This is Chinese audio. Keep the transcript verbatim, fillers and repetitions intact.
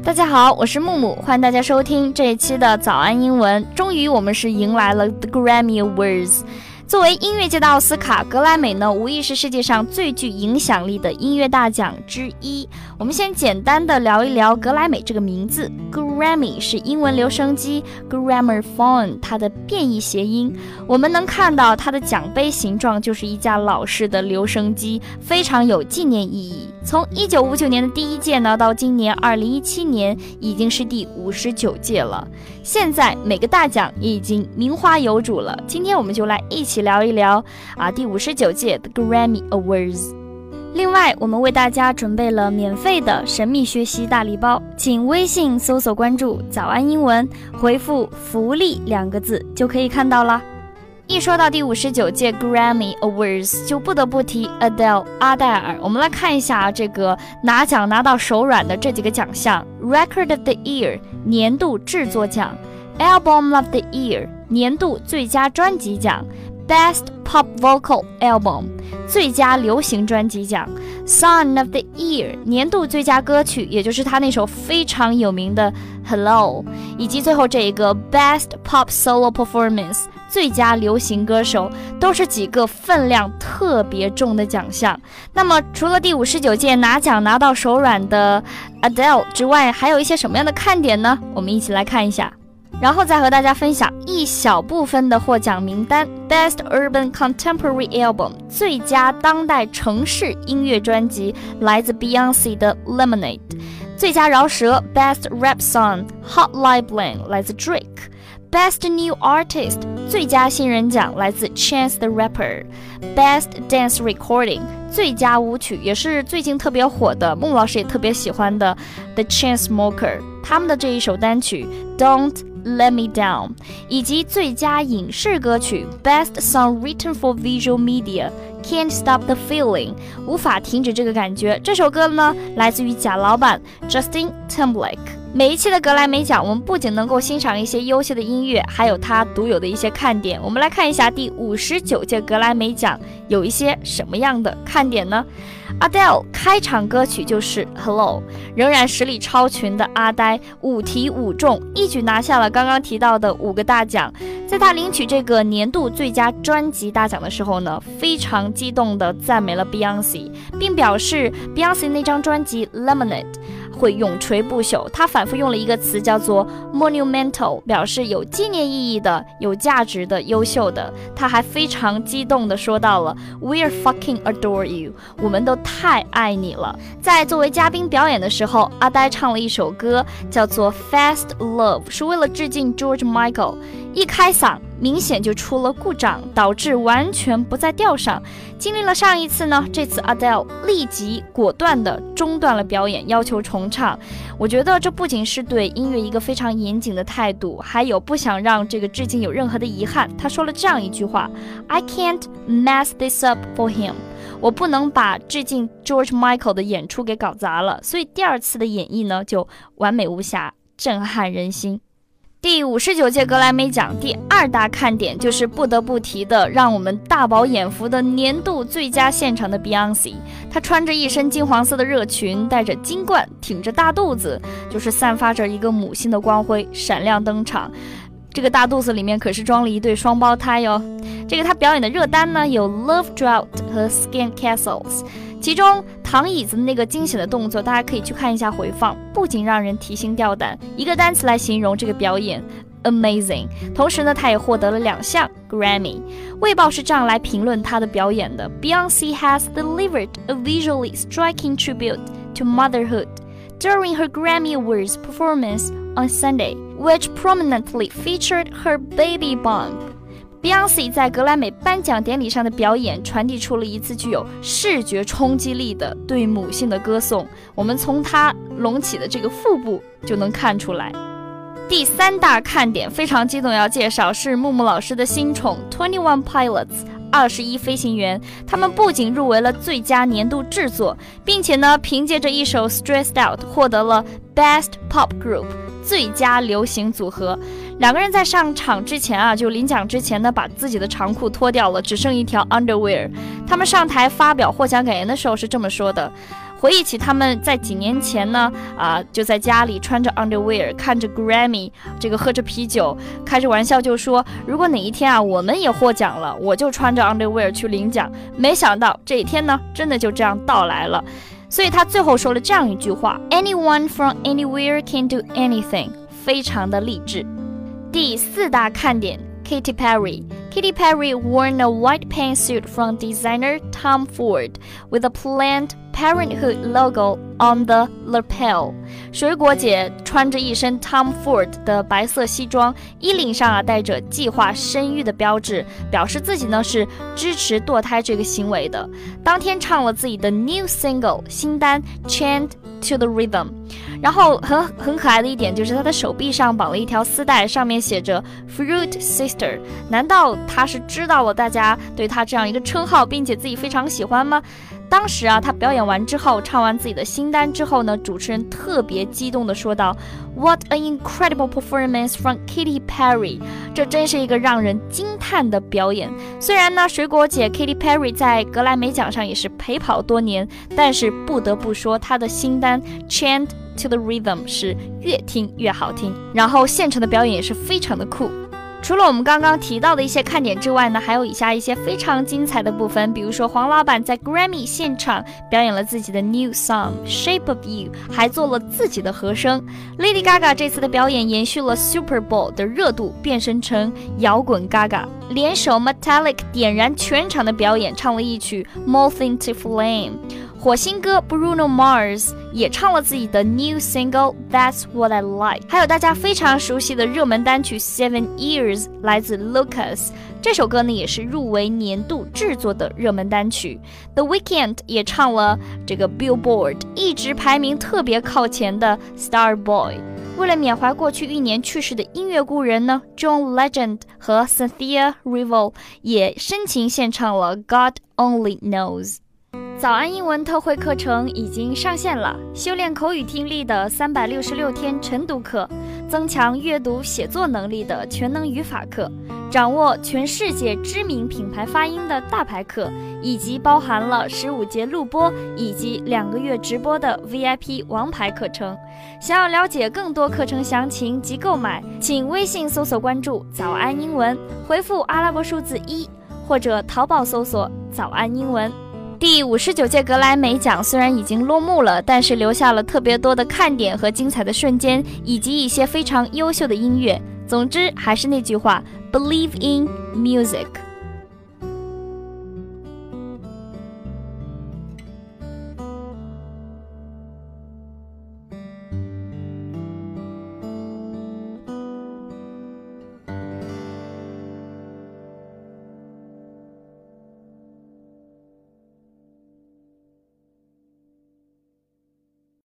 大家好，我是木木，欢迎大家收听这一期的早安英文。终于我们是迎来了 The Grammy Awards。作为音乐界的奥斯卡，格莱美呢无疑是世界上最具影响力的音乐大奖之一。我们先简单的聊一聊格莱美这个名字。 Grammy 是英文留声机 Gramophone 它的变异谐音。我们能看到它的奖杯形状就是一架老式的留声机，非常有纪念意义。从一九五九年的第一届呢，到今年二零一七年，已经是第五十九届了。现在每个大奖也已经名花有主了。今天我们就来一起聊一聊啊第五十九届的 Grammy Awards。另外，我们为大家准备了免费的神秘学习大礼包，请微信搜索关注早安英文，回复福利两个字就可以看到了。一说到第五十九届 Grammy Awards， 就不得不提 Adele 阿黛尔。我们来看一下这个拿奖拿到手软的这几个奖项。 Record of the Year 年度制作奖， Album of the Year 年度最佳专辑奖， Best Pop Vocal Album 最佳流行专辑奖， Song of the Year 年度最佳歌曲，也就是他那首非常有名的 Hello， 以及最后这一个 Best Pop Solo Performance 最佳流行歌手，都是几个分量特别重的奖项。那么除了第五十九届拿奖拿到手软的 Adele 之外，还有一些什么样的看点呢？我们一起来看一下，然后再和大家分享一小部分的获奖名单。 Best Urban Contemporary Album 最佳当代城市音乐专辑来自 Beyonce 的 Lemonade。 最佳饶舌 Best Rap Song Hotline Bling 来自 Drake。Best New Artist 最佳新人奖来自 Chance the Rapper。 Best Dance Recording 最佳舞曲，也是最近特别火的，孟老师也特别喜欢的 The Chainsmokers 他们的这一首单曲 Don't Let Me Down， 以及最佳影视歌曲 Best Song Written for Visual Media Can't Stop the Feeling 无法停止这个感觉。这首歌呢来自于贾老板 Justin Timberlake。每一期的格莱美奖，我们不仅能够欣赏一些优秀的音乐，还有它独有的一些看点。我们来看一下第五十九届格莱美奖有一些什么样的看点呢？ Adele 开场歌曲就是 Hello， 仍然实力超群的阿呆五题五中，一举拿下了刚刚提到的五个大奖。在他领取这个年度最佳专辑大奖的时候呢，非常激动地赞美了 Beyonce， 并表示 Beyonce 那张专辑 Lemonade 会永垂不朽。他反复用了一个词叫做 monumental， 表示有纪念意义的、有价值的、优秀的。他还非常激动地说到了 We're fucking adore you， 我们都太爱你了。在作为嘉宾表演的时候，阿呆唱了一首歌叫做 Fast Love， 是为了致敬 George Michael。 一开嗓明显就出了故障，导致完全不在调上。经历了上一次呢，这次 Adele 立即果断地中断了表演，要求重唱。我觉得这不仅是对音乐一个非常严谨的态度，还有不想让这个致敬有任何的遗憾。他说了这样一句话 I can't mess this up for him， 我不能把致敬 George Michael 的演出给搞砸了。所以第二次的演绎呢就完美无瑕，震撼人心。第五十九届格莱美奖第二大看点就是不得不提的让我们大饱眼福的年度最佳现场的 Beyonce。 她穿着一身金黄色的热裙，戴着金冠，挺着大肚子，就是散发着一个母性的光辉，闪亮登场。这个大肚子里面可是装了一对双胞胎哟。这个她表演的热单呢有 Love Drought 和 Skin Castles， 其中躺椅子的那个惊险的动作，大家可以去看一下回放，不仅让人提心吊胆，一个单词来形容这个表演 amazing。 同时呢，她也获得了两项 Grammy。 卫报是这样来评论她的表演的 Beyonce has delivered a visually striking tribute to motherhood during her Grammy Awards performance on Sunday, which prominently featured her baby bump。Beyonce 在格莱美颁奖典礼上的表演，传递出了一次具有视觉冲击力的对母性的歌颂。我们从她隆起的这个腹部就能看出来。第三大看点非常激动要介绍，是木木老师的新宠 Twenty One Pilots 二十一飞行员。他们不仅入围了最佳年度制作，并且呢凭借着一首 Stressed Out 获得了 Best Pop Group 最佳流行组合。 两个人在上场之前啊，就领奖之前呢，把自己的长裤脱掉了，只剩一条 underwear。他们上台发表获奖感言的时候是这么说的。回忆起他们在几年前呢，啊、呃，就在家里穿着 underwear， 看着 Grammy， 这个喝着啤酒，开着玩笑就说，如果哪一天啊我们也获奖了，我就穿着 underwear 去领奖。没想到这一天呢，真的就这样到来了。所以他最后说了这样一句话 ：Anyone from anywhere can do anything， 非常的励志。第四大看点 ，Katy Perry。Katy Perry worn a white pantsuit from designer Tom Ford with a planned Parenthood logo on the lapel。 水果姐穿着一身 Tom Ford 的白色西装，衣领上啊带着计划生育的标志，表示自己呢是支持堕胎这个行为的。当天唱了自己的 new single 新单 Chant to the Rhythm。 然后很很可爱的一点就是他的手臂上绑了一条丝带，上面写着 Fruit Sister。 难道他是知道了大家对他这样一个称号，并且自己非常喜欢吗？当时啊，他表演完之后，唱完自己的新单之后呢，主持人特别激动地说道 What an incredible performance from Katy Perry。 这真是一个让人惊叹的表演。虽然呢，水果姐 Katy Perry 在格莱美奖上也是陪跑多年，但是不得不说她的新单 Chant to the Rhythm 是越听越好听，然后现场的表演也是非常的酷。除了我们刚刚提到的一些看点之外呢，还有以下一些非常精彩的部分，比如说黄老板在 Grammy 现场表演了自己的 new song Shape of You， 还做了自己的和声。 Lady Gaga 这次的表演延续了 Super Bowl 的热度，变身成摇滚 Gaga， 联手 Metallic 点燃全场的表演，唱了一曲 Moth into Flame。火星哥 Bruno Mars 也唱了自己的 new single That's What I Like。 还有大家非常熟悉的热门单曲 Seven Years 来自 Lucas， 这首歌呢也是入围年度制作的热门单曲。 The Weeknd 也唱了这个 Billboard 一直排名特别靠前的 Starboy。 为了缅怀过去一年去世的音乐故人呢， John Legend 和 Cynthia Erivo 也深情献唱了 God Only Knows。早安英文特惠课程已经上线了，修炼口语听力的三百六十六天晨读课，增强阅读写作能力的全能语法课，掌握全世界知名品牌发音的大牌课，以及包含了十五节录播以及两个月直播的 V I P 王牌课程。想要了解更多课程详情及购买，请微信搜索关注早安英文，回复阿拉伯数字一，或者淘宝搜索早安英文。第五十九届格莱美奖虽然已经落幕了，但是留下了特别多的看点和精彩的瞬间，以及一些非常优秀的音乐。总之，还是那句话 ，Believe in music。